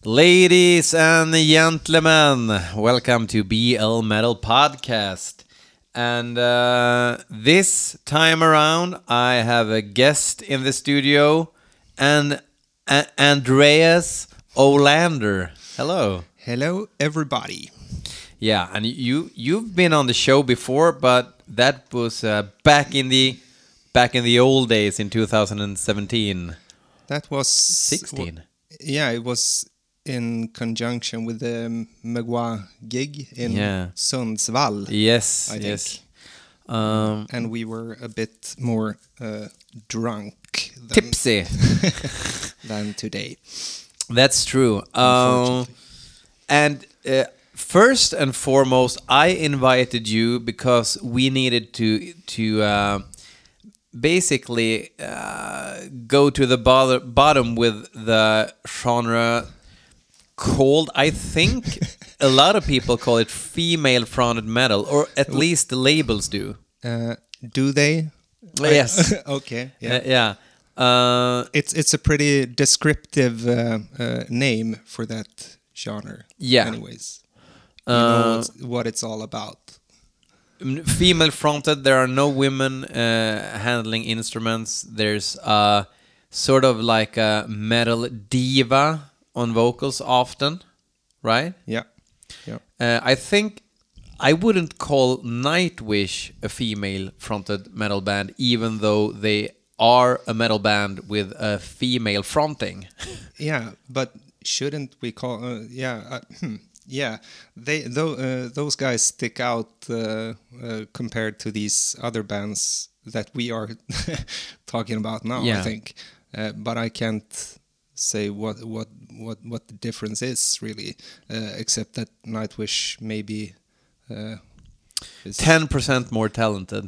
Ladies and gentlemen, welcome to BL Metal Podcast. And this time around, I have a guest in the studio, and Andreas Olander. Hello. Hello, everybody. Yeah, and you've been on the show before, but that was back in the old days in 2017. That was 16. Yeah, it was in conjunction with the Megwa gig in Sundsvall. Yes, I think. yes. And we were a bit more drunk Tipsy. than today. That's true. Unfortunately. And first and foremost, I invited you because we needed to basically go to the bottom with the genre called, I think a lot of people call it female-fronted metal, or at least the labels do. Do they? Yes. Okay. Yeah. It's a pretty descriptive name for that genre. Yeah. Anyways, you know what it's all about. Female fronted, there are no women handling instruments. There's sort of like a metal diva on vocals often, right? Yeah. I think I wouldn't call Nightwish a female fronted metal band, even though they are a metal band with a female fronting. Yeah, but shouldn't we call? Yeah, those guys stick out compared to these other bands that we are talking about now. Yeah. I think, but I can't say what the difference is really, except that Nightwish maybe is 10% more talented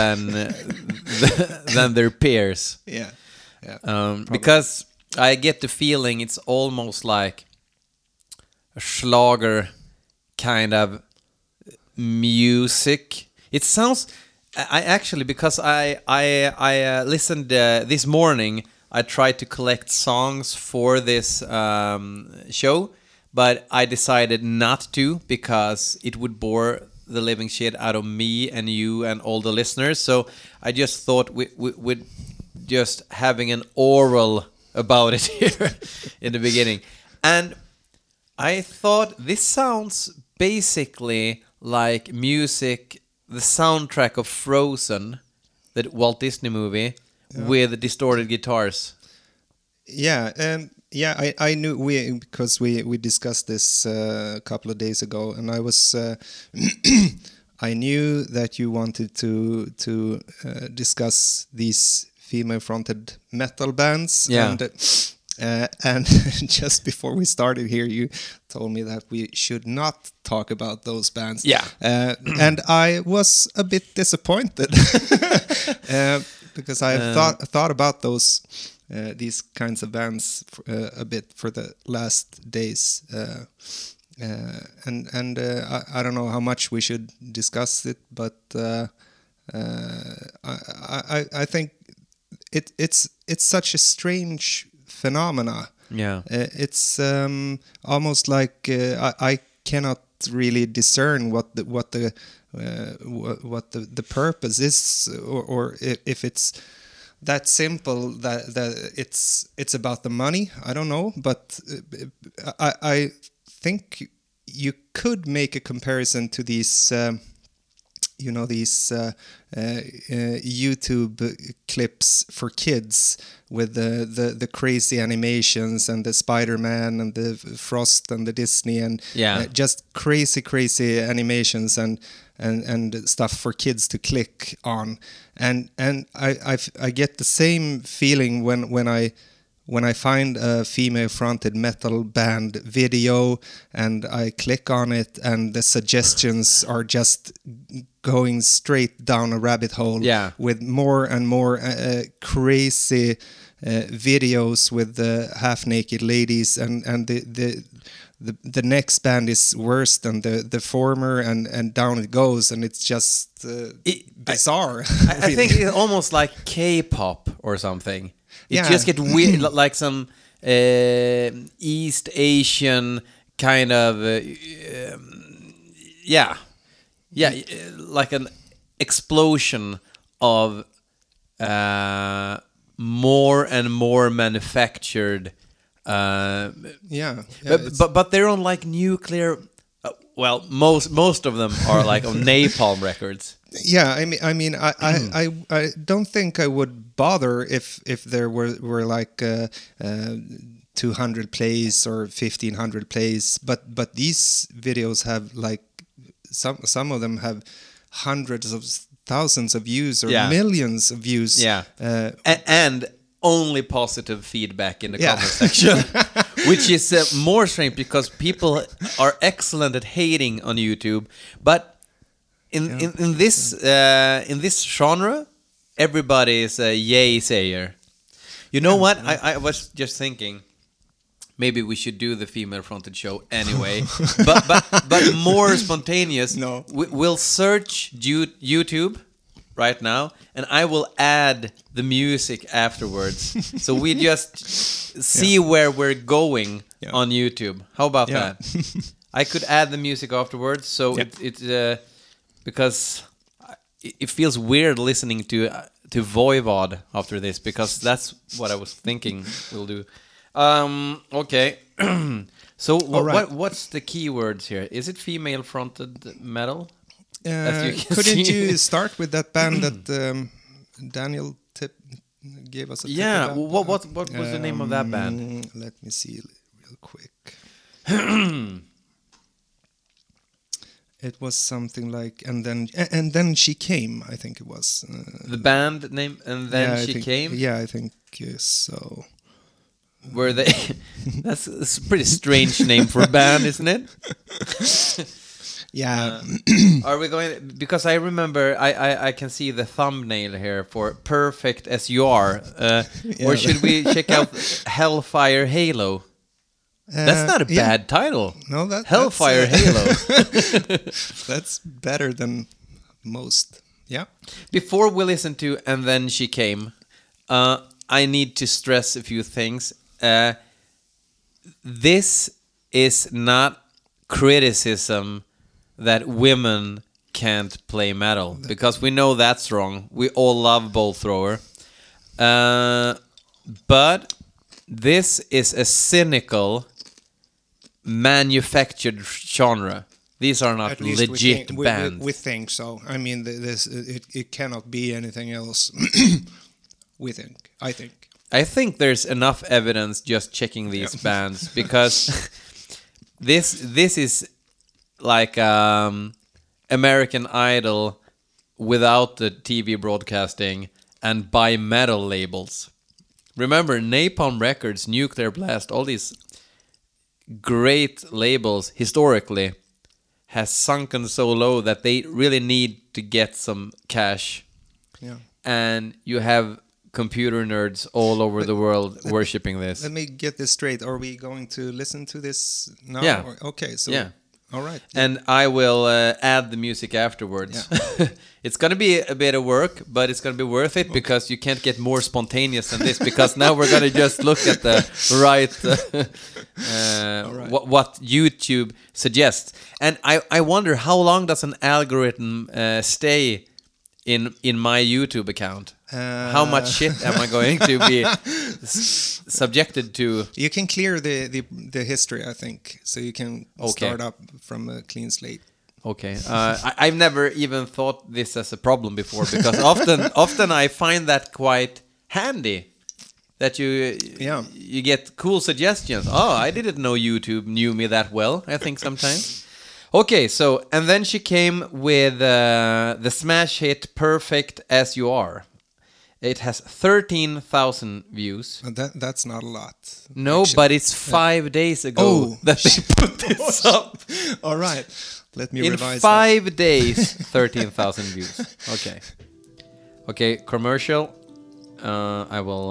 than their peers. Yeah. Because I get the feeling it's almost like a Schlager kind of music. It sounds. I actually, because I listened this morning. I tried to collect songs for this show, but I decided not to because it would bore the living shit out of me and you and all the listeners. So I just thought we'd just having an oral about it here in the beginning. And I thought this sounds basically like music, the soundtrack of Frozen, the Walt Disney movie, with distorted guitars. Yeah, I knew because we discussed this a couple of days ago, and I was I knew that you wanted to discuss these female-fronted metal bands. Yeah. And just before we started here, you told me that we should not talk about those bands. Yeah. And I was a bit disappointed because I thought about these kinds of bands a bit for the last days. And I don't know how much we should discuss it, but I think it's such a strange phenomena. Yeah. It's almost like I cannot really discern what the purpose is, or if it's that simple that it's about the money. I don't know, but I think you could make a comparison to these these YouTube clips for kids with the crazy animations and the Spider-Man and the Frost and the Disney and just crazy animations and stuff for kids to click on, and I get the same feeling when I find a female-fronted metal band video and I click on it and the suggestions are just going straight down a rabbit hole with more and more crazy videos with the half-naked ladies, and the next band is worse than the former, and down it goes, and it's just bizarre. I think it's almost like K-pop or something. It just get weird, like some East Asian kind of like an explosion of more and more manufactured but they're on like nuclear well most of them are like on Napalm Records. I don't think I would bother if there were like 200 plays or 1500 plays, but these videos have like some of them have hundreds of thousands of views or millions of views. And only positive feedback in the comment section, which is more strange because people are excellent at hating on YouTube, but in this genre, everybody is a yay sayer. You know what? I was just thinking, maybe we should do the female-fronted show anyway, but more spontaneous. No, we'll search YouTube right now, and I will add the music afterwards. So we just see where we're going on YouTube. How about that? I could add the music afterwards, so it's because it feels weird listening to Voivod after this, because that's what I was thinking we'll do. Okay. So what's the keywords here? Is it female-fronted metal? Couldn't you start with that band that Daniel gave us a tip about? What was the name of that band? Let me see real quick. It was something like and then she came, I think it was. The band name, and then she came? Yeah, I think so. Were they that's a pretty strange name for a band, isn't it? Yeah. Are we going? Because I remember I can see the thumbnail here for Perfect As You Are. Or should we check out Hellfire Halo? That's not a bad title. No, Hellfire Halo. That's better than most. Yeah. Before we listen to And Then She Came, I need to stress a few things. This is not criticism that women can't play metal, because we know that's wrong. We all love Bolt Thrower. But this is a cynical, manufactured genre. These are not legit bands. We think so. I mean, it cannot be anything else. I think there's enough evidence just checking these bands, because this is like American Idol without the TV broadcasting and by metal labels. Remember, Napalm Records, Nuclear Blast, all these great labels historically has sunken so low that they really need to get some cash. Yeah. And you have computer nerds all over the world worshipping this. Let me get this straight. Are we going to listen to this now? Yeah. Okay, so all right. And I will add the music afterwards. Yeah. It's going to be a bit of work, but it's going to be worth it, because you can't get more spontaneous than this, because now we're going to just look at the right, what YouTube suggests. And I wonder, how long does an algorithm stay in my YouTube account? How much shit am I going to be subjected to? You can clear the history, I think, so you can start up from a clean slate. Okay, I've never even thought this as a problem before, because often I find that quite handy. That you get cool suggestions. Oh, I didn't know YouTube knew me that well. I think sometimes. Okay, so And Then She Came with the smash hit Perfect As You Are. It has 13,000 views. That's not a lot. No, actually. But it's 5 days ago that they put this up. All right, let me revise. In 5 days, 13,000 views. Okay, commercial. I will.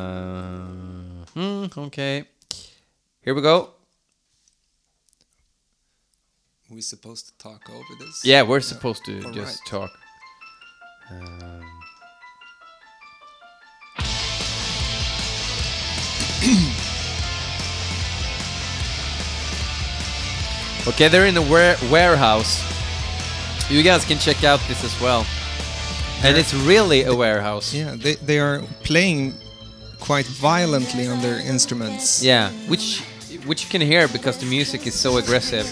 Okay, here we go. We're supposed to talk over this? Yeah, we're supposed to just talk. Okay, they're in a warehouse. You guys can check out this as well. And it's really a warehouse. Yeah, they are playing quite violently on their instruments. Yeah, which you can hear because the music is so aggressive.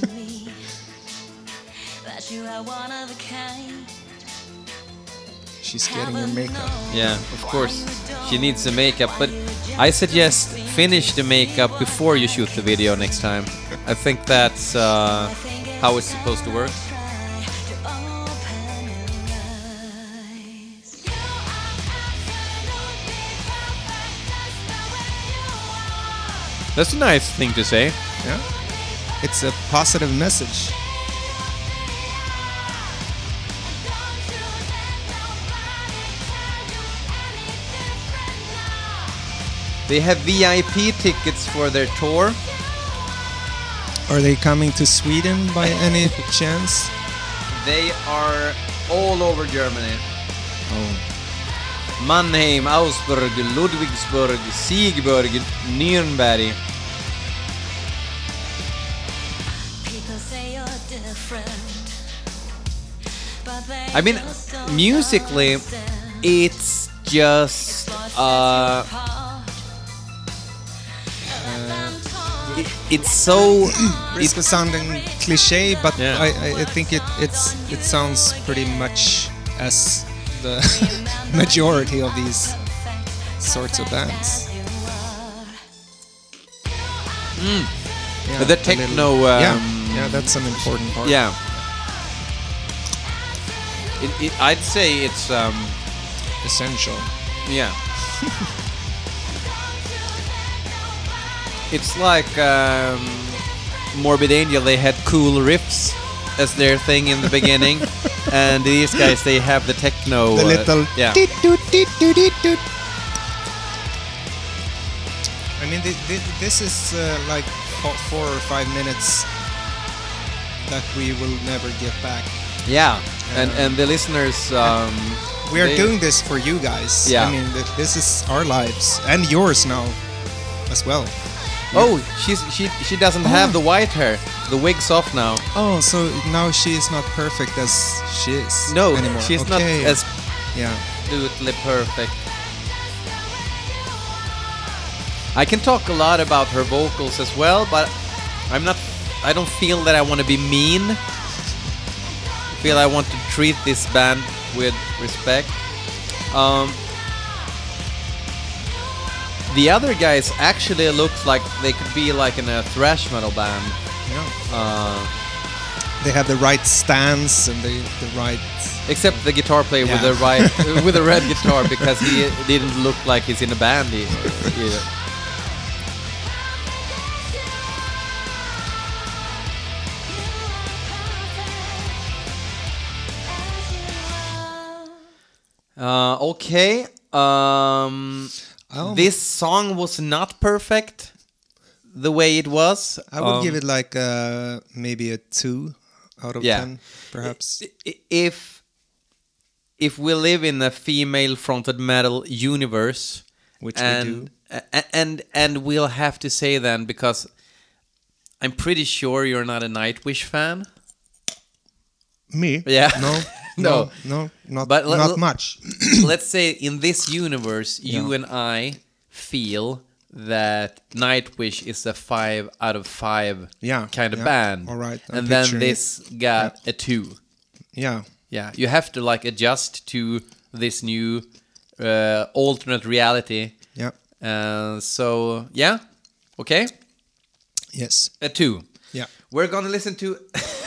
She's getting her makeup. Yeah, of course. She needs the makeup, but I suggest finish the makeup before you shoot the video next time. I think that's how it's supposed to work. That's a nice thing to say. Yeah, it's a positive message. They have VIP tickets for their tour. Are they coming to Sweden by any chance? They are all over Germany. Oh. Mannheim, Augsburg, Ludwigsburg, Siegburg, Nürnberg. I mean, musically, it's just it's so risk of sounding cliche, but yeah. I think it sounds pretty much as the majority of these sorts of bands. Yeah, the techno. Yeah, that's an important part. Yeah, I'd say it's essential. Yeah. It's like Morbid Angel. They had cool riffs as their thing in the beginning, and these guys, they have the techno. The little yeah. I mean, this is like 4 or 5 minutes that we will never get back. Yeah, and the listeners. We are doing this for you guys. Yeah. I mean, this is our lives and yours now, as well. Oh, she doesn't have the white hair. The wig's off now. Oh, so now she is not perfect as she is. No, anymore. she's not as yeah absolutely perfect. I can talk a lot about her vocals as well, but I don't feel that I want to be mean. I feel I want to treat this band with respect. The other guys actually look like they could be like in a thrash metal band. Yeah. They have the right stance and the right. Except the guitar player with the right with a red guitar, because he didn't look like he's in a band either. Okay. This song was not perfect the way it was. I would give it like maybe a 2 out of 10, perhaps. If we live in a female-fronted metal universe, which we do, and we'll have to say then, because I'm pretty sure you're not a Nightwish fan. Me? Yeah. No, not much. Let's say in this universe, you and I feel that Nightwish is a 5 out of 5 kind of band. All right. And then this got a 2. Yeah. Yeah. You have to like adjust to this new alternate reality. Yeah. So, yeah. Okay. Yes. A 2. Yeah. We're going to listen to...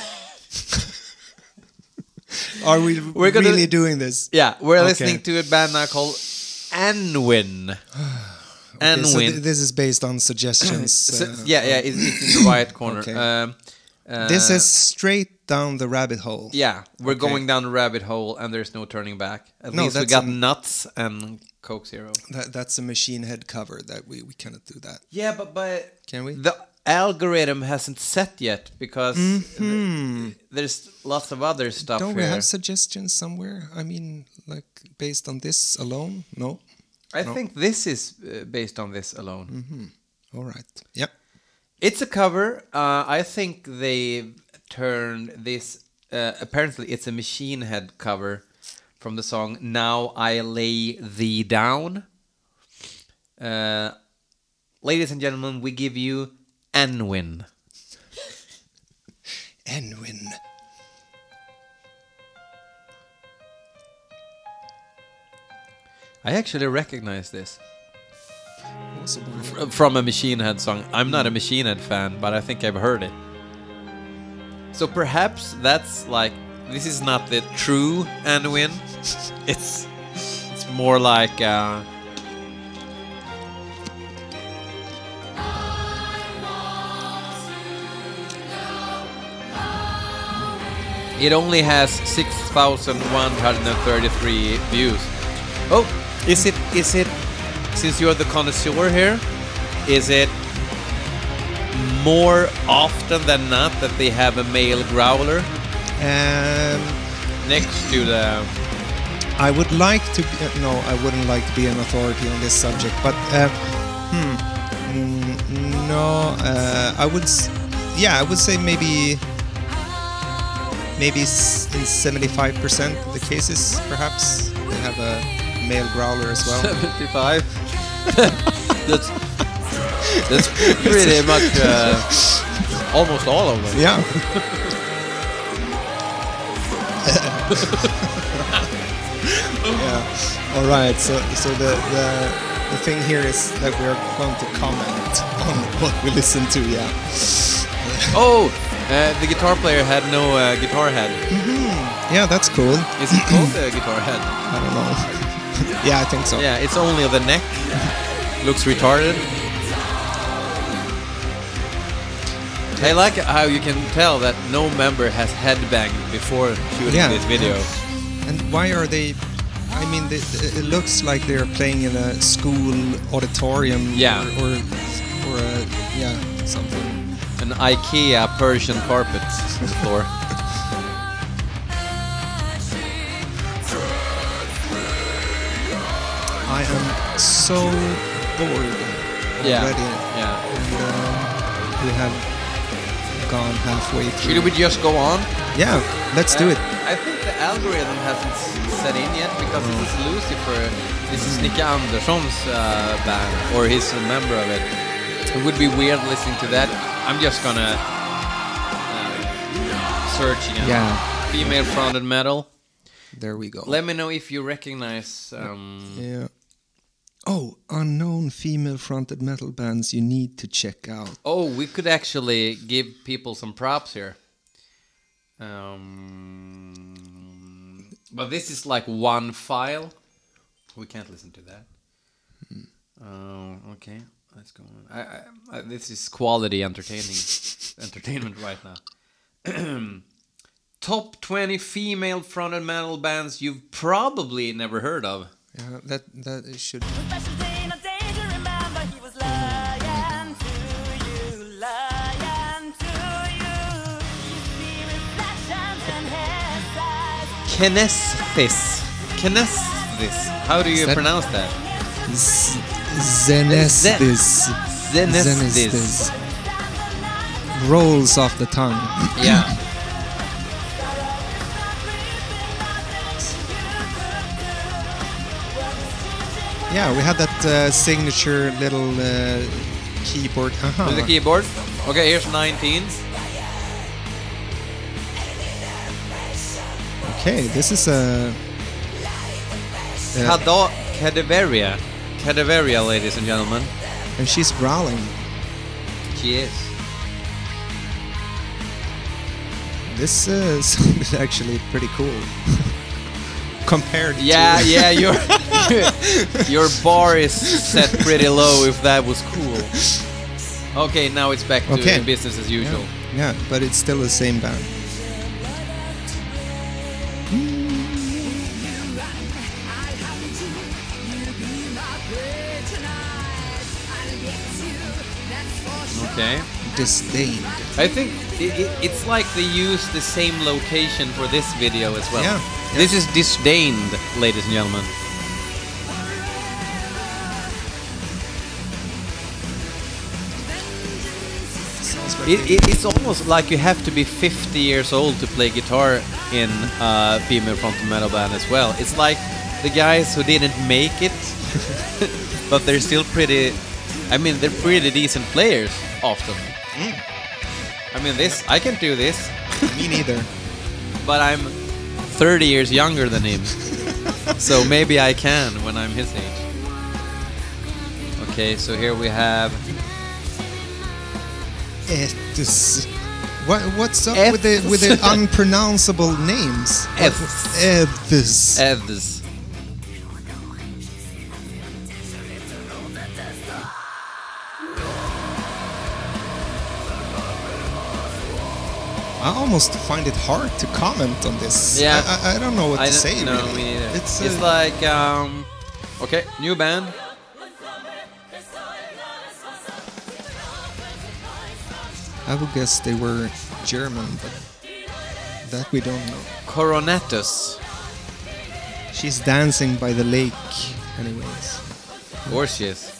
Are we really doing this? Yeah, we're listening to a band now called Anwin. Okay, so this is based on suggestions. It's in the right corner. Okay. This is straight down the rabbit hole. Yeah, we're going down the rabbit hole, and there's no turning back. At least we got Nuts and Coke Zero. That's a Machine Head cover. That we cannot do that. Yeah, but can we? The algorithm hasn't set yet, because there's lots of other stuff. Don't we have suggestions somewhere? I mean, like based on this alone? No. I think this is based on this alone. Mm-hmm. All right. Yep. It's a cover. I think they turned this. Apparently, it's a Machine Head cover from the song "Now I Lay Thee Down." Ladies and gentlemen, we give you Anwin. Anwin. I actually recognize this from a Machine Head song. I'm not a Machine Head fan, but I think I've heard it. So perhaps that's like, this is not the true Anwin. It's more like it only has 6,133 views. Oh, is it since you're the connoisseur here, is it more often than not that they have a male growler next to the... I would like to be, no, I wouldn't like to be an authority on this subject, but no, I would say maybe in 75% of the cases, perhaps they have a male growler as well. 75. that's pretty much almost all of them. Yeah. Yeah. All right. So the thing here is that we're going to comment on what we listen to. Yeah. Oh, the guitar player had no guitar head. Mm-hmm. Yeah, that's cool. Is it called a guitar head? I don't know. Yeah, I think so. Yeah, it's only the neck. Looks retarded. I like how you can tell that no member has headbanged before shooting this video. And why are they... I mean, it looks like they're playing in a school auditorium. Yeah. Or something. An IKEA Persian carpet on the floor. I am so bored already. Yeah. And we have gone halfway through. Should we just go on? Yeah, let's do it. I think the algorithm hasn't set in yet because this is Lucifer. This is Nicke Andersson's band, or he's a member of it. It would be weird listening to that. I'm just gonna search female fronted metal. There we go. Let me know if you recognize. Yeah. Oh, unknown female-fronted metal bands you need to check out. Oh, we could actually give people some props here. But this is like one file. We can't listen to that. Okay, let's go on. This is quality entertainment right now. Top 20 female-fronted metal bands you've probably never heard of. Yeah, that should. Kinesthesis. How do you pronounce that? Zenesthis. Rolls off the tongue. Yeah. Yeah, we had that signature little keyboard. With the keyboard. Okay, here's 19. Okay, this is a... Cadaveria, ladies and gentlemen. And she's growling. She is. This sounded actually pretty cool. Compared to... Yeah, your bar is set pretty low if that was cool. Okay, now it's back to business as usual. Yeah, but it's still the same band. Okay. Disdained. I think it's like they use the same location for this video as well. Yeah. This is Disdained, ladies and gentlemen. It's almost like you have to be 50 years old to play guitar in a female fronted metal band as well. It's like the guys who didn't make it, but they're still pretty. I mean, they're pretty decent players often. I mean, I can't do this. Me neither. But I'm 30 years younger than him, so maybe I can when I'm his age. Okay, so here we have. What's up with the unpronounceable names? Eths. I almost find it hard to comment on this. Yeah, I don't know what to say. No, really. me neither. It's like okay, new band. I would guess they were German, but that we don't know. Coronatus. She's dancing by the lake, anyways. Of course she is.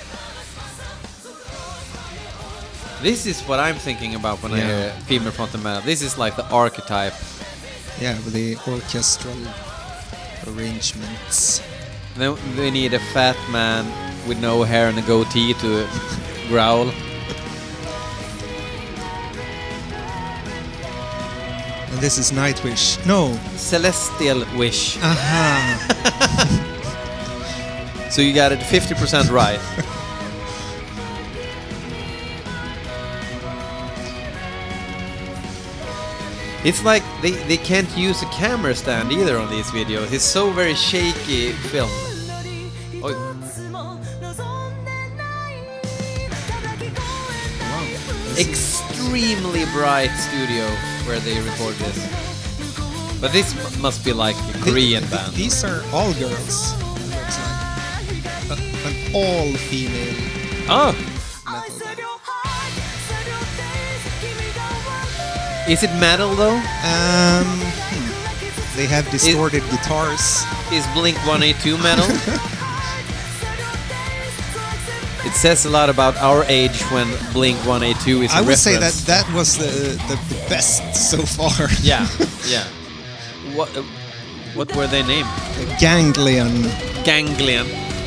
This is what I'm thinking about when I hear female fronted metal. This is like the archetype. Yeah, with the orchestral arrangements. Then we need a fat man with no hair and a goatee to growl. And this is Nightwish. No. Celestial Wish. Aha. So you got it 50% right. It's like they can't use a camera stand either on these videos. It's so very shaky film. Oh. Extremely bright studio where they record this. But this must be like a Korean band. These are all girls. It looks like an all-female Oh! metal band. Is it metal though? They have distorted guitars. Is Blink-182 metal? It says a lot about our age when Blink-182 is a I would reference. say that was the best so far. Yeah, yeah. What were they named? Ganglion. Ganglion.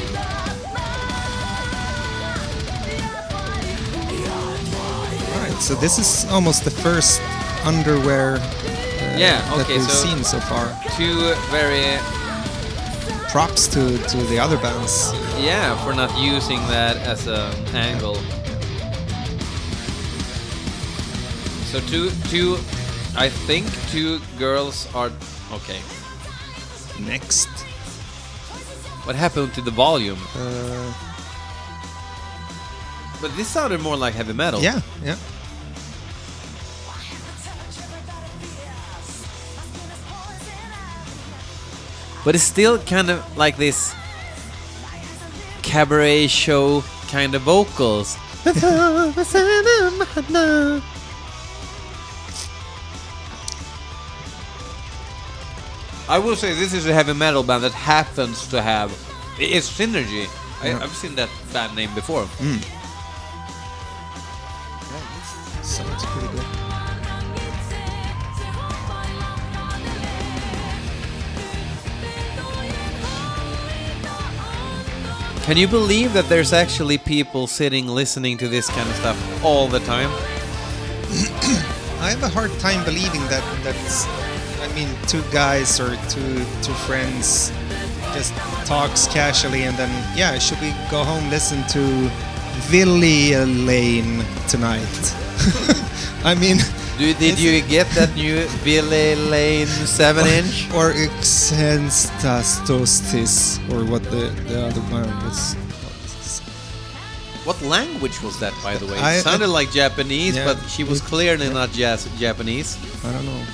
Alright, so this is almost the first underwear that we've seen so far. Two very... Props to the other bands. Yeah, for not using that as an angle. So I think two girls are... Okay. Next. What happened to the volume? But this sounded more like heavy metal. Yeah, yeah. But it's still kind of like this cabaret show kind of vocals. I will say this is a heavy metal band that happens to have... It's Synergy. I've seen that band name before. Yeah, this sounds pretty good. Can you believe that there's actually people sitting listening to this kind of stuff all the time? I have a hard time believing that's... I mean, two guys or two friends just talks casually and then, yeah, should we go home listen to Villy Lane tonight? I mean... Did you get that new Villy Lane 7-inch? Or Exenstastos, or what the other one was. What language was that, by the way? It sounded like Japanese, but she was clearly not Japanese. I don't know.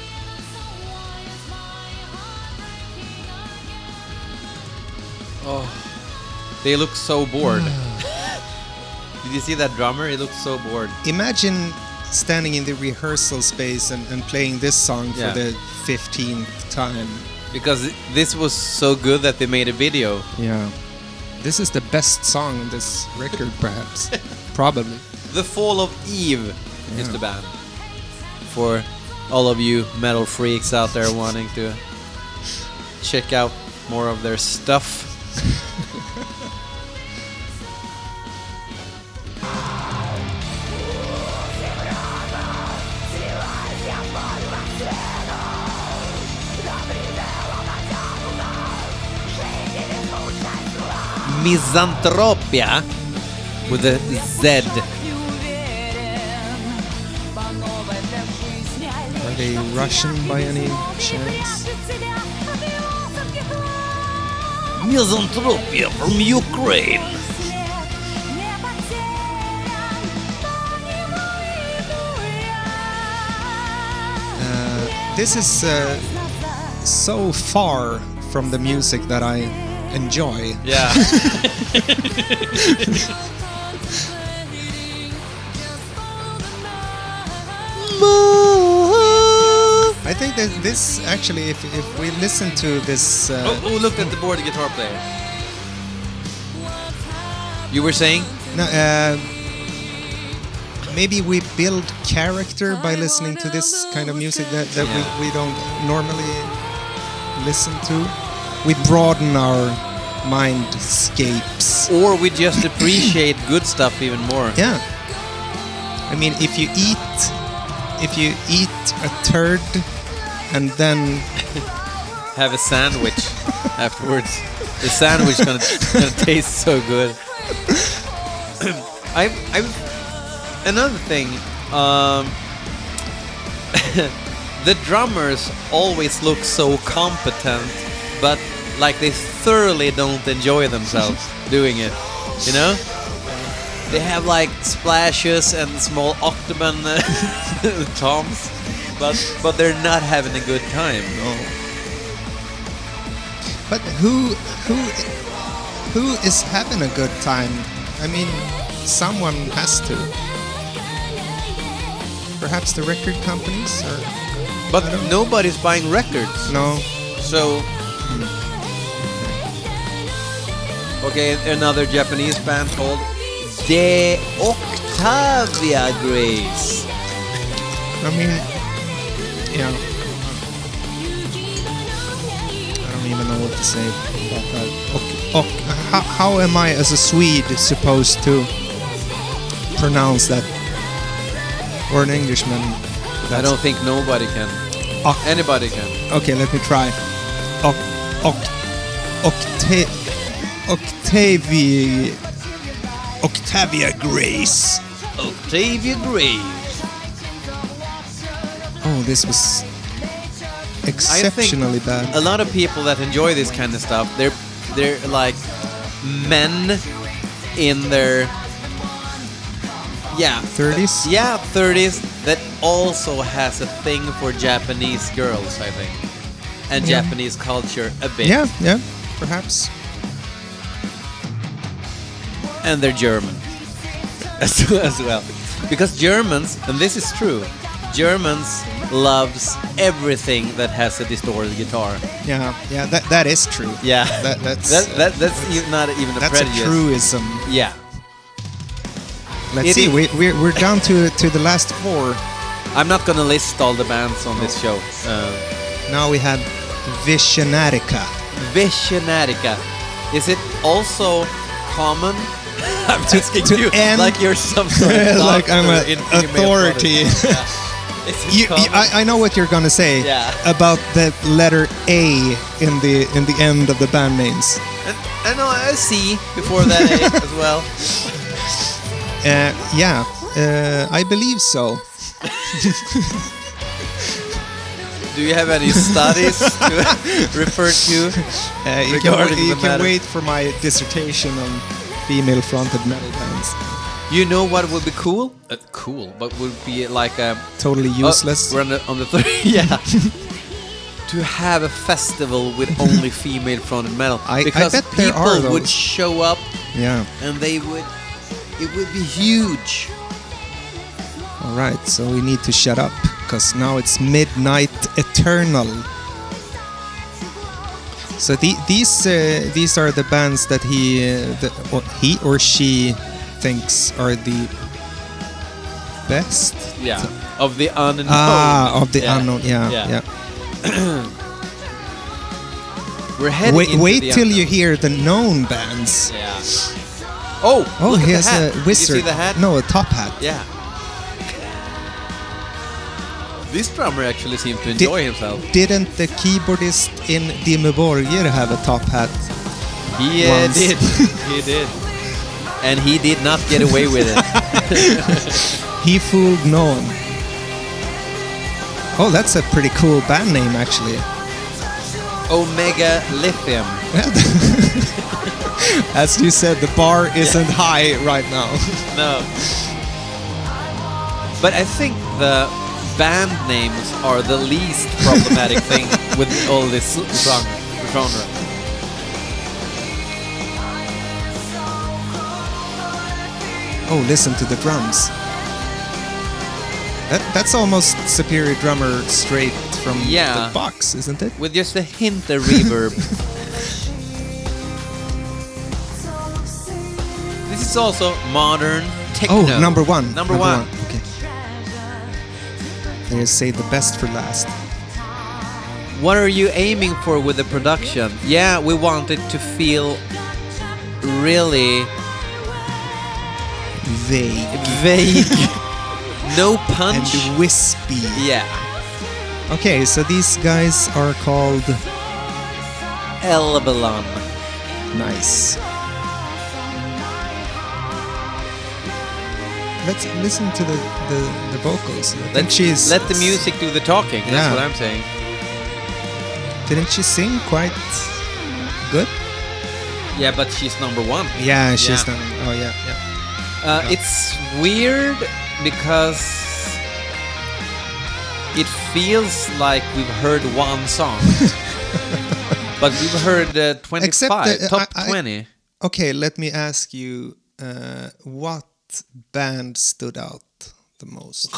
Oh, they look so bored. Did you see that drummer? He looked so bored. Imagine standing in the rehearsal space and playing this song for the 15th time. Because this was so good that they made a video. Yeah. This is the best song on this record, perhaps. Probably. The Fall of Eve is the band. For all of you metal freaks out there wanting to check out more of their stuff. Misanthropia with a Z. Are they Russian by any chance? Misanthropia from Ukraine. This is so far from the music that I enjoy. Yeah. I think that this actually, if we listen to this... look at the board guitar player. You were saying? No, maybe we build character by listening to this kind of music that we don't normally listen to. We broaden our mindscapes. Or we just appreciate good stuff even more. Yeah. I mean, if you eat a turd and then have a sandwich afterwards, the sandwich gonna taste so good. Another thing. The drummers always look so competent, but like they thoroughly don't enjoy themselves doing it, you know? They have like splashes and small octagon toms, but they're not having a good time. No. But who is having a good time? I mean, someone has to. Perhaps the record companies, or but nobody's buying records. No. So. Okay, another Japanese band called De Octavia Grace. I mean, yeah. I don't even know what to say about that. How am I, as a Swede, supposed to pronounce that? Or an Englishman? I don't think nobody can. Anybody can. Okay, let me try. Octavia Grace. Octavia Grace. Oh, this was exceptionally bad. A lot of people that enjoy this kind of stuff, they're like men in their 30s? Yeah, 30s that also has a thing for Japanese girls, I think. And Japanese culture a bit. Yeah, perhaps. And they're German as well. Because Germans, and this is true, Germans loves everything that has a distorted guitar. Yeah, that is true. Yeah, that's not even a prejudice. That's a truism. Yeah. Let's see. We're down to the last four. I'm not gonna list all the bands on this show. Now we have Visionatica. Visionatica. Is it also common? I'm asking you like you're some sort of doctor, like I'm an authority. I know what you're gonna say about the letter A in the end of the band names. I know a C before that A as well. I believe so. Do you have any studies to refer to? You can wait for my dissertation on female-fronted metal bands. You know what would be cool? But would be like a totally useless. We're on the third. Yeah. To have a festival with only female-fronted metal, because I bet there are people would show up. Yeah. And they would. It would be huge. All right, so we need to shut up because now it's Midnight Eternal. So these are the bands that he or she thinks are the best. Yeah, of the unknown. Of the unknown. Yeah. We're heading wait into till the you hear the known bands. Yeah. Oh, look he at has the hat. a wizard. Did you see the hat? No, a top hat. Yeah. This drummer actually seemed to enjoy himself. Didn't the keyboardist in Dimmu Borgir have a top hat? He did. He did. And he did not get away with it. He fooled no one. Oh, that's a pretty cool band name, actually. Omega Lithium. As you said, the bar isn't high right now. No. But I think the band names are the least problematic thing with all this genre. Oh, listen to the drums. That's almost Superior Drummer straight from the box, isn't it? With just a hint of reverb. This is also modern techno. Oh, number one. Number one. Okay. They say the best for last. What are you aiming for with the production? Yeah, we want it to feel really vague. No punch. And wispy. Yeah. Okay, so these guys are called Elbelon. Nice. Let's listen to the vocals. Let the music do the talking. That's what I'm saying. Didn't she sing quite good? Yeah, but she's number one. Yeah, she's number. Oh yeah. It's weird because it feels like we've heard one song, but we've heard 25, top 20. Okay, let me ask you, what band stood out the most?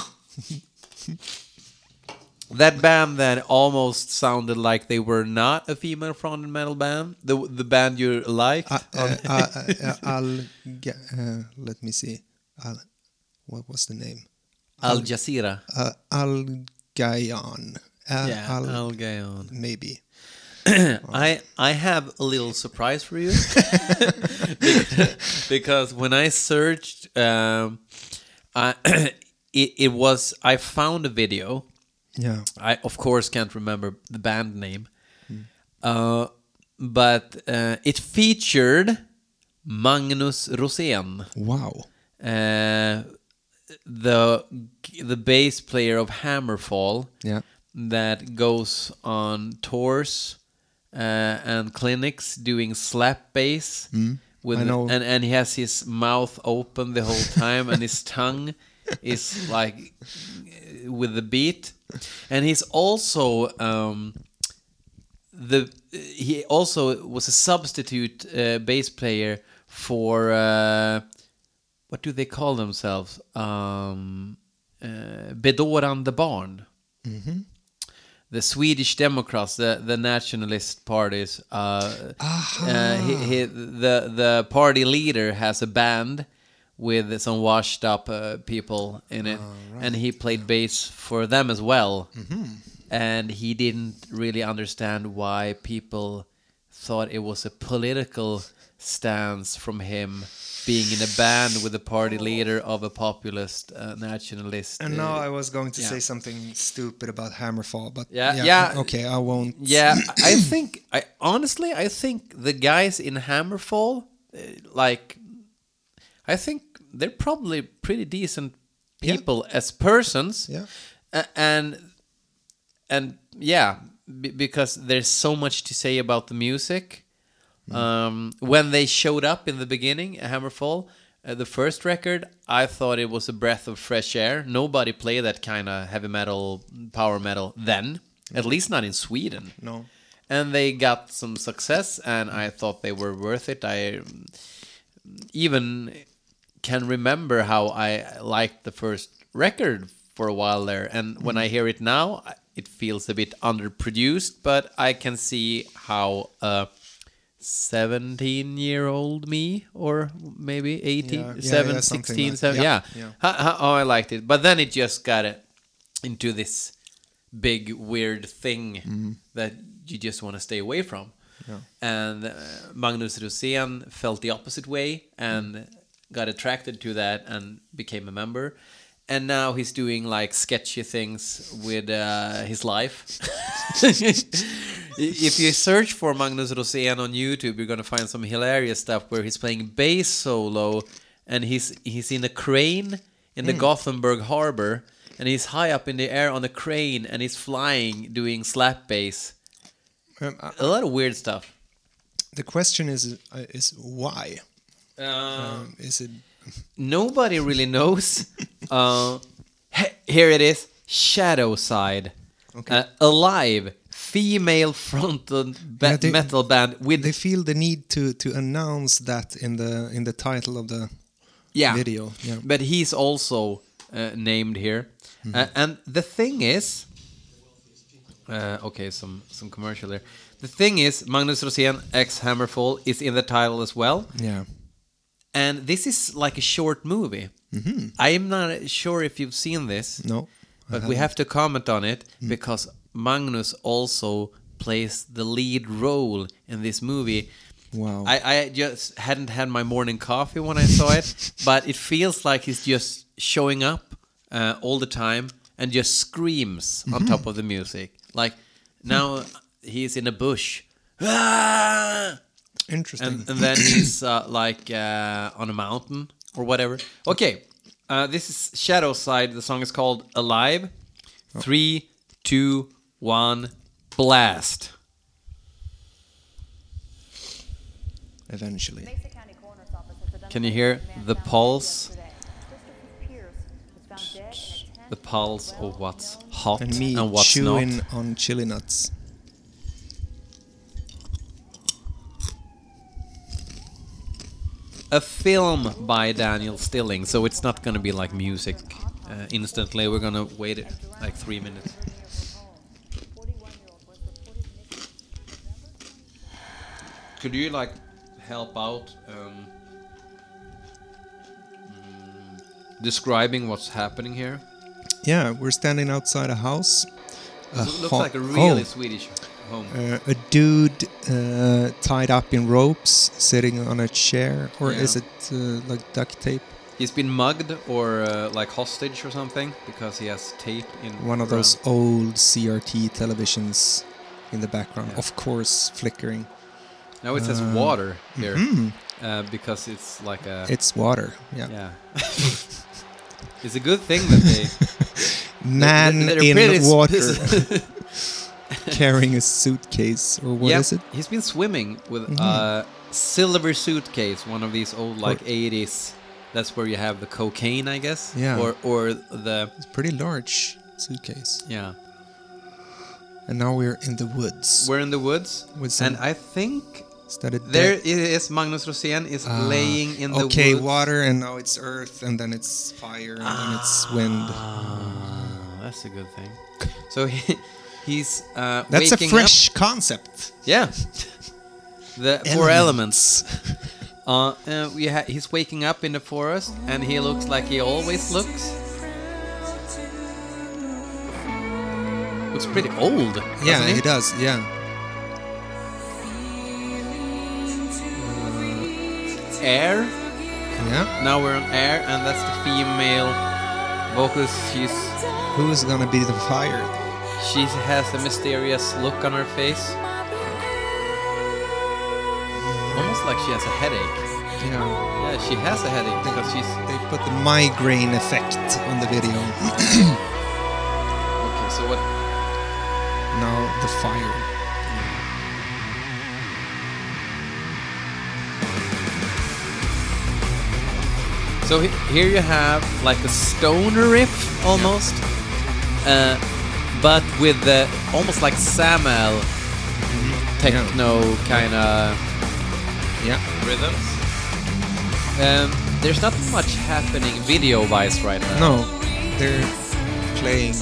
That band that almost sounded like they were not a female-fronted metal band. The band you liked. Let me see. What was the name? Al Jazeera. Al Gayan. Al Gayan. Maybe. I have a little surprise for you. because when I searched, I found a video. Yeah. I of course can't remember the band name. But it featured Magnus Rosén. Wow. The bass player of Hammerfall. Yeah. That goes on tours and clinics doing slap bass with and he has his mouth open the whole time and his tongue is like with the beat, and he's also he also was a substitute bass player for what do they call themselves? Bedårande barn. Mm-hmm. The Swedish Democrats, the nationalist parties. The party leader has a band with some washed up people in it, right. And he played bass for them as well. Mm-hmm. And he didn't really understand why people thought it was a political stance from him being in a band with the party leader of a populist nationalist. And now I was going to say something stupid about Hammerfall, but okay, I won't. Yeah, I think the guys in Hammerfall, I think they're probably pretty decent people as persons. Yeah. Because there's so much to say about the music. When they showed up in the beginning, Hammerfall, the first record, I thought it was a breath of fresh air. Nobody played that kind of heavy metal, power metal then, at least not in Sweden. No. And they got some success, and I thought they were worth it. I even can remember how I liked the first record for a while there. And when I hear it now, it feels a bit underproduced, but I can see how 17-year-old me, or maybe 18, 16, like 7. Yeah. How I liked it. But then it just got into this big, weird thing that you just want to stay away from. Yeah. And Magnus Rosén felt the opposite way and got attracted to that and became a member. And now he's doing like sketchy things with his life. If you search for Magnus Rosén on YouTube, you're gonna find some hilarious stuff where he's playing bass solo, and he's in a crane in the Gothenburg harbor, and he's high up in the air on a crane, and he's flying doing slap bass. A lot of weird stuff. The question is why? Is it? Nobody really knows. Here it is. Shadow Side. Okay. Alive. Female fronted metal band with. They feel the need to announce that in the title of the video. Yeah. But he's also named here. And the thing is, okay, some commercial there. The thing is, Magnus Rosén X Hammerfall is in the title as well. Yeah. And this is like a short movie. I am not sure if you've seen this. No. But we have to comment on it because Magnus also plays the lead role in this movie. Wow. I just hadn't had my morning coffee when I saw it, but it feels like he's just showing up all the time and just screams on top of the music. Like now he's in a bush. Ah! Interesting. And then he's like on a mountain or whatever. Okay, this is Shadow Side. The song is called Alive. 3, 2, 1, blast. Eventually. Can you hear the pulse? The pulse of what's hot And me what's chewing not. on chili nuts. A film by Daniel Stilling, so it's not going to be like music instantly. We're going to wait like 3 minutes. Could you like help out describing what's happening here? Yeah, we're standing outside a house. It looks like a really Swedish home. A dude tied up in ropes sitting on a chair, or is it like duct tape? He's been mugged or like hostage or something because he has tape in one of those old CRT televisions in the background, of course, flickering. Now it says water here because it's like a... It's water, yeah. Yeah. It's a good thing that they... Man in water. Carrying a suitcase, or what is it? He's been swimming with a silver suitcase, one of these old like 80s. That's where you have the cocaine, I guess. Yeah. Or the... It's a pretty large suitcase. Yeah. And now we're in the woods. We're in the woods. And I think... There is Magnus Rosén is laying in the woods. Okay, water, and now it's earth, and then it's fire, and then it's wind. That's a good thing. So he's that's waking a fresh up. Concept. Yeah. The four elements. He's waking up in the forest, and he looks like he always looks. Looks pretty old. Yeah, he does. Yeah. Air. Yeah. Now we're on air, and that's the female vocalist. Who's gonna be the fire? She has a mysterious look on her face. Almost like she has a headache. Yeah. Yeah, she has a headache because they put the migraine effect on the video. Okay, so what? Now the fire. So here you have like a stoner riff almost, but with the almost like Samuel techno kind of rhythms. There's not much happening video-wise right now. No, they're playing,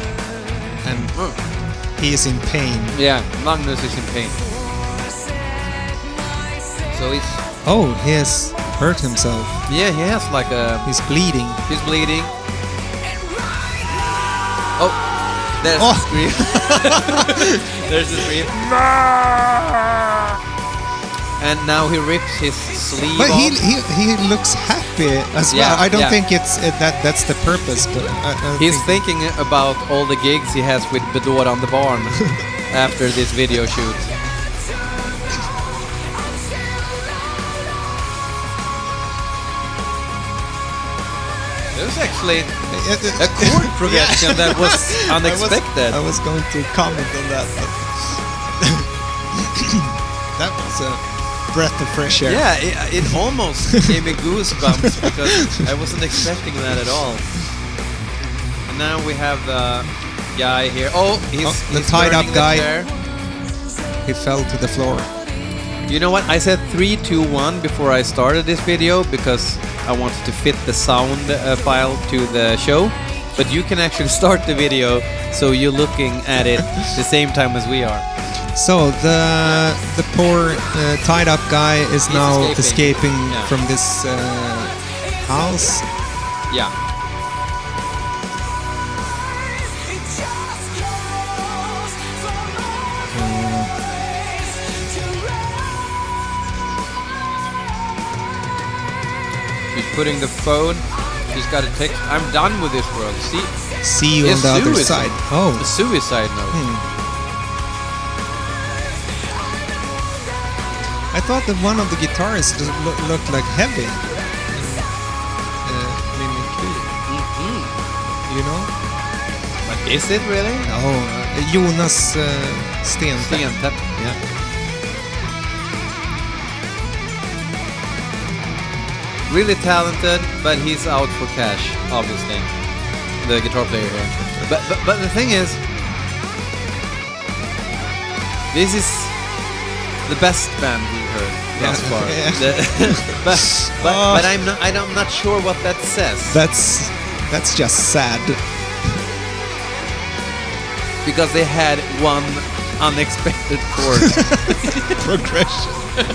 and he is in pain. Yeah, Magnus is in pain. So he's... Oh, he has hurt himself. Yeah, he has like a... He's bleeding. He's bleeding. Oh, there's the scream. There's the scream. And now he rips his sleeve but off. he looks happy as well. I don't think it's that's the purpose, but he's thinking about all the gigs he has with Bedore on the Barn after this video shoot. It was actually a chord progression that was unexpected. I was going to comment on that. That was a breath of fresh air. Yeah, it almost gave me goosebumps because I wasn't expecting that at all. And now we have the guy here. Oh, he's tied up guy. Chair. He fell to the floor. You know what? I said 3, 2, 1 before I started this video because I wanted to fit the sound file to the show. But you can actually start the video so you're looking at it the same time as we are. So the poor tied up guy is now escaping from this house. Yeah. She's putting the phone. She's got a text. I'm done with this world. See you on the other side. Oh, a suicide note. I thought that one of the guitarists looked like heavy. You know? But is it really? Oh, Jonas Stentäpp. Yeah. Really talented, but he's out for cash, obviously. The guitar player here. But the thing is, this is the best band we've heard thus far. But I'm not sure what that says. That's just sad. Because they had one unexpected chord progression.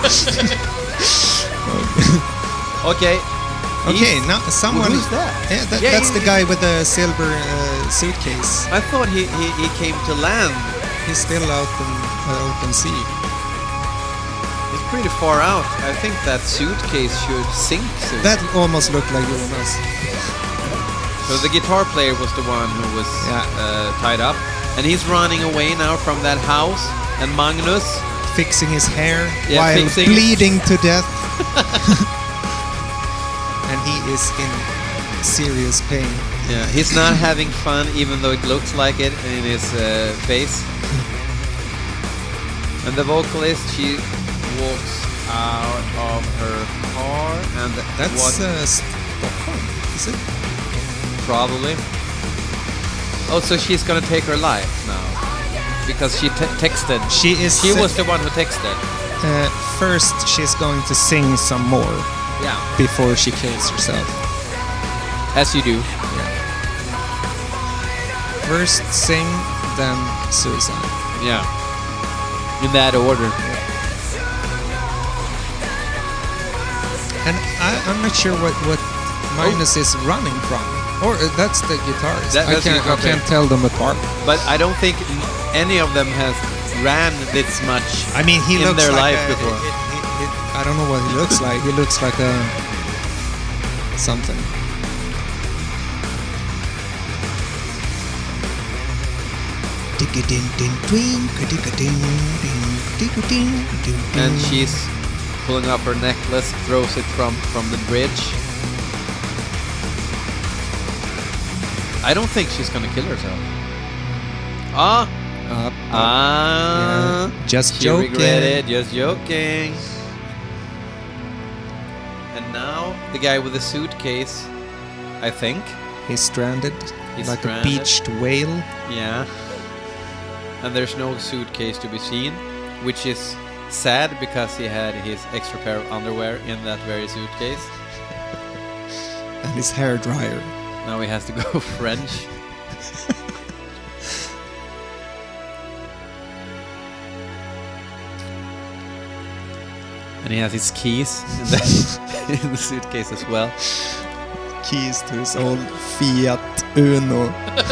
Okay. Now someone. Who's that? Yeah, that's the guy with the silver suitcase. I thought he came to land. He's still out in open sea. It's pretty far out. I think that suitcase should sink soon. That almost looked like Jonas. So the guitar player was the one who was tied up. And he's running away now from that house. And Magnus... fixing his hair while bleeding to death. And he is in serious pain. Yeah, he's not having fun even though it looks like it in his face. And the vocalist, she walks out of her car and that's Stockholm, is it? Probably. Oh, so she's gonna take her life now because she texted. She was the one who texted. First, she's going to sing some more. Yeah. Before she kills herself. As you do. Yeah. First sing, then suicide. Yeah. In that order. And I'm not sure what Magnus is running from. Or that's the guitarist. I can't tell them apart. But I don't think any of them has ran this much he in looks their like life before. I don't know what he looks like. He looks like a something. And she's pulling up her necklace, throws it from the bridge. I don't think she's gonna kill herself. Yeah. Just joking. Regretted, just joking. And now the guy with the suitcase, I think. He's stranded. He's like stranded. A beached whale. Yeah. And there's no suitcase to be seen, which is sad because he had his extra pair of underwear in that very suitcase. And his hair dryer. Now he has to go French. And he has his keys in the suitcase as well. Keys to his old Fiat Uno.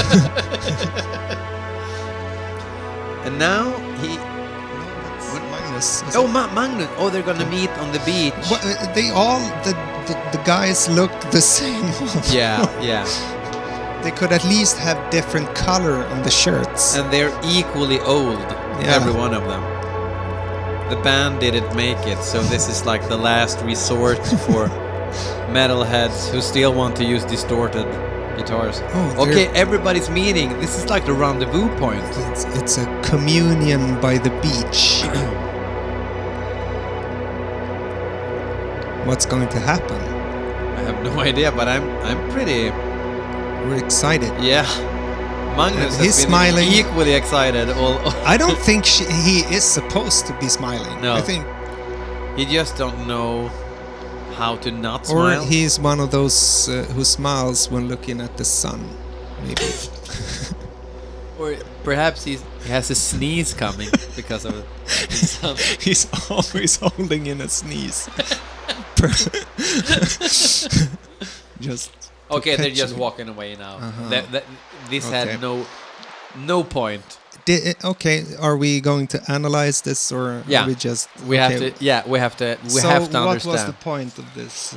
And now he... Magnus. Oh, Magnus. Oh, they're gonna meet on the beach. What, they all... The guys look the same. Yeah. They could at least have different color on the shirts. And they're equally old, every one of them. The band didn't make it, so this is like the last resort for metalheads who still want to use distorted guitars. Oh, okay, everybody's meeting. This is like the rendezvous point. It's a communion by the beach. What's going to happen? I have no idea, but I'm pretty... We're excited. Yeah. Magnus he's has been smiling. Equally excited. I don't think he is supposed to be smiling. No. I think he just don't know how to not smile. Or he's one of those who smiles when looking at the sun, maybe. Or perhaps he has a sneeze coming because of the sun. He's always holding in a sneeze. Just okay, they're just walking away now. This had no point. Okay, are we going to analyze this or are we just... We have to understand. So what was the point of this?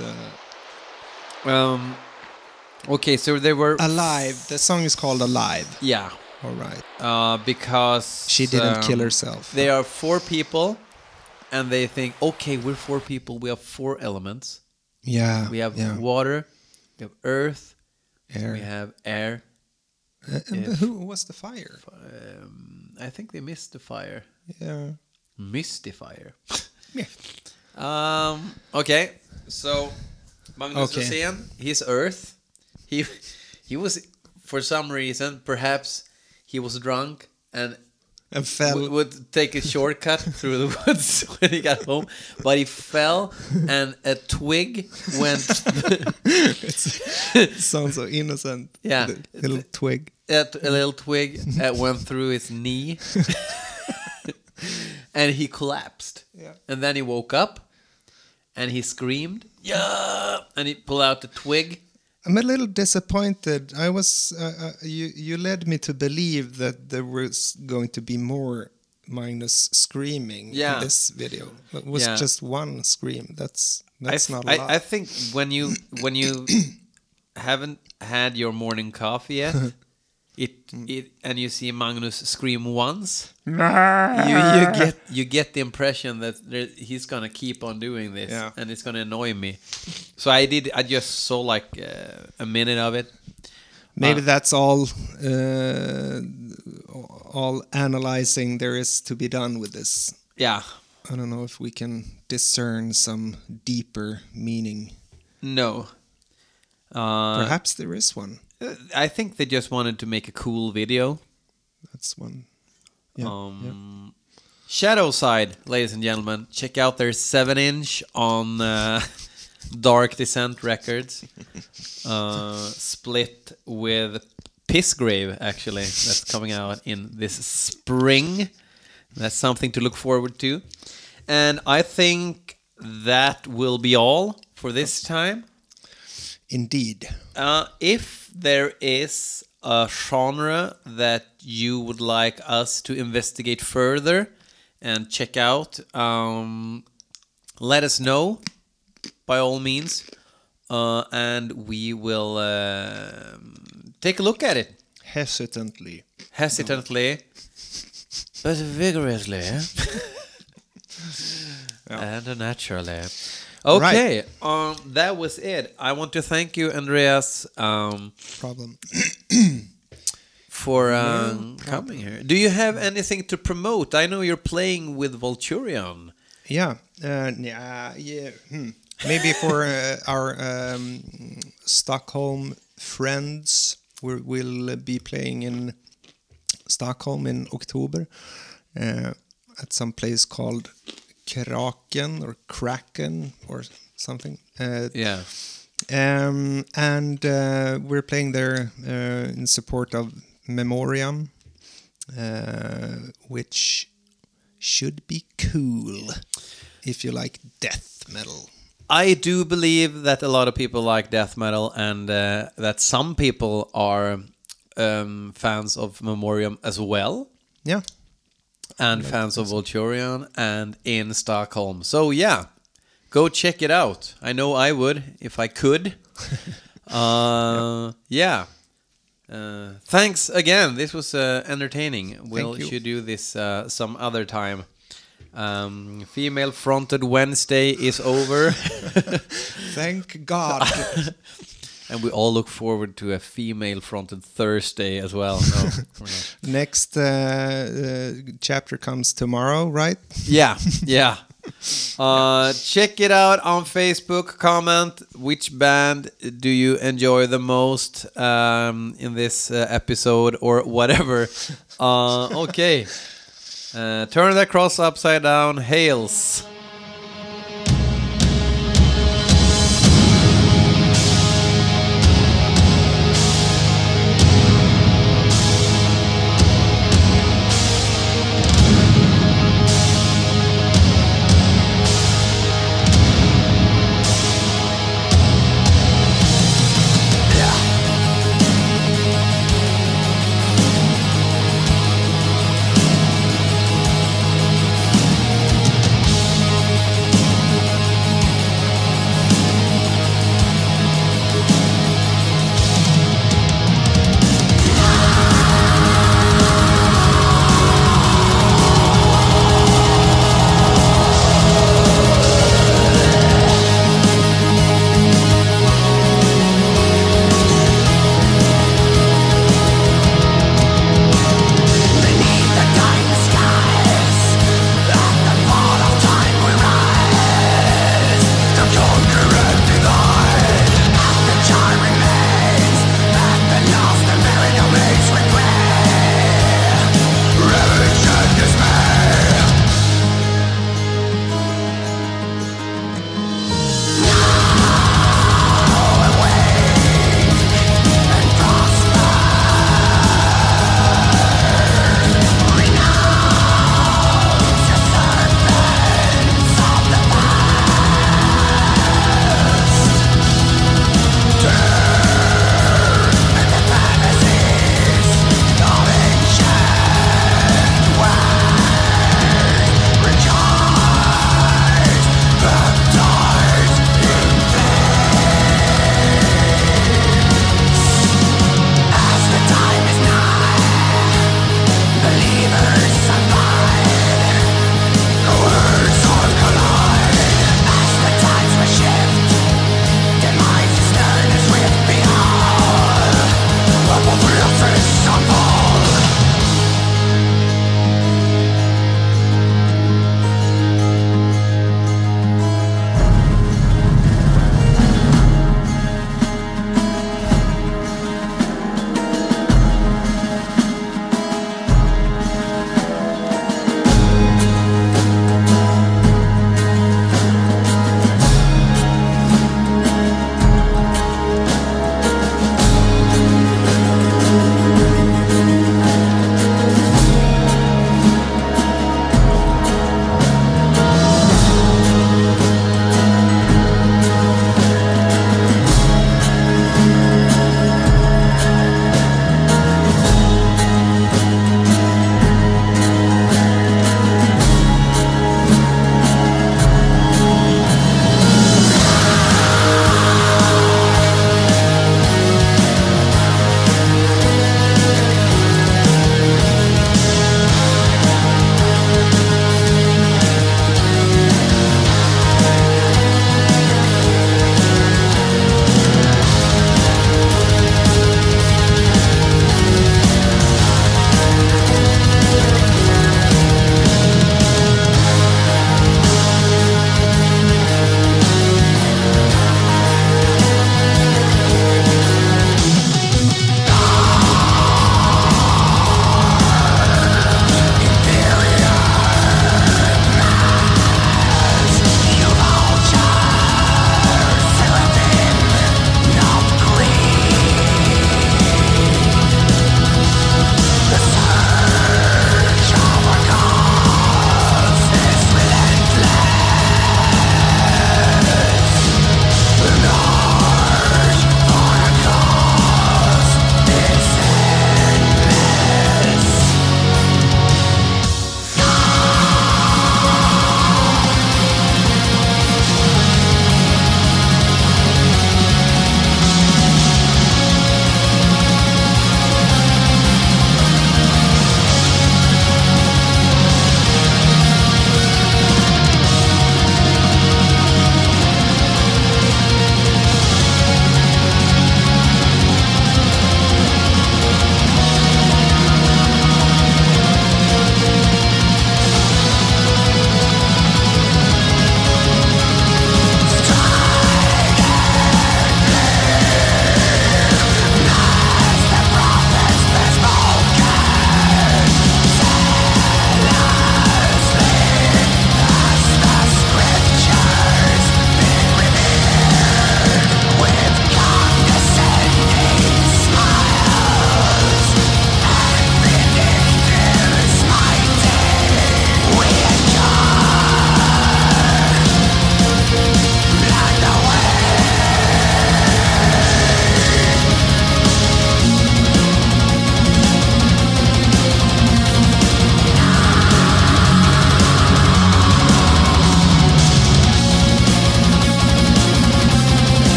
Okay, so they were... Alive. The song is called Alive. Yeah. All right. Because... She didn't kill herself. They are 4 people, and they think, okay, we're 4 people, we have 4 elements. Yeah. We have water, we have earth, air. We have air. Who was the fire? I think they missed the fire. Yeah. Missed the fire. Yeah. Okay, so Magnus Rosén, he's earth. He was, for some reason, perhaps he was drunk and fell. Would take a shortcut through the woods when he got home, but he fell and a twig went. It sounds so innocent. Yeah, a little twig. A little twig went through his knee, and he collapsed. Yeah. And then he woke up, and he screamed, "Yeah!" And he pulled out the twig. I'm a little disappointed. I was you led me to believe that there was going to be more Magnus screaming in this video. It was just one scream. That's not a lot. I think when you haven't had your morning coffee yet, and you see Magnus scream once, you get the impression that he's gonna keep on doing this, and it's gonna annoy me. So I just saw like a minute of it. Maybe that's all analyzing there is to be done with this. Yeah. I don't know if we can discern some deeper meaning. No. Perhaps there is one. I think they just wanted to make a cool video. That's one. Yeah. Shadow Side, ladies and gentlemen. Check out their 7-inch on Dark Descent Records. Split with Pissgrave, actually. That's coming out in this spring. That's something to look forward to. And I think that will be all for this time. Indeed. If there is a genre that you would like us to investigate further and check out, let us know, by all means, and we will take a look at it. Hesitantly, but vigorously, and naturally. Okay, right. That was it. I want to thank you, Andreas, for coming here. Do you have anything to promote? I know you're playing with Vulturion. Yeah. Maybe for our Stockholm friends, we'll be playing in Stockholm in October at some place called Kraken or something. And we're playing there in support of Memoriam, which should be cool. if you like death metal. I do believe that a lot of people like death metal, and that some people are fans of Memoriam as well. Yeah. And fans of Vulturion and In Stockholm. So yeah, go check it out. I know I would if I could. Yeah. Thanks again. This was entertaining. We should do this some other time. Female-fronted Wednesday is over. Thank God. And we all look forward to a female-fronted Thursday as well. No, next chapter comes tomorrow, right? Yeah. Check it out on Facebook. Comment which band do you enjoy the most in this episode or whatever. Okay. Turn that cross upside down. Hails.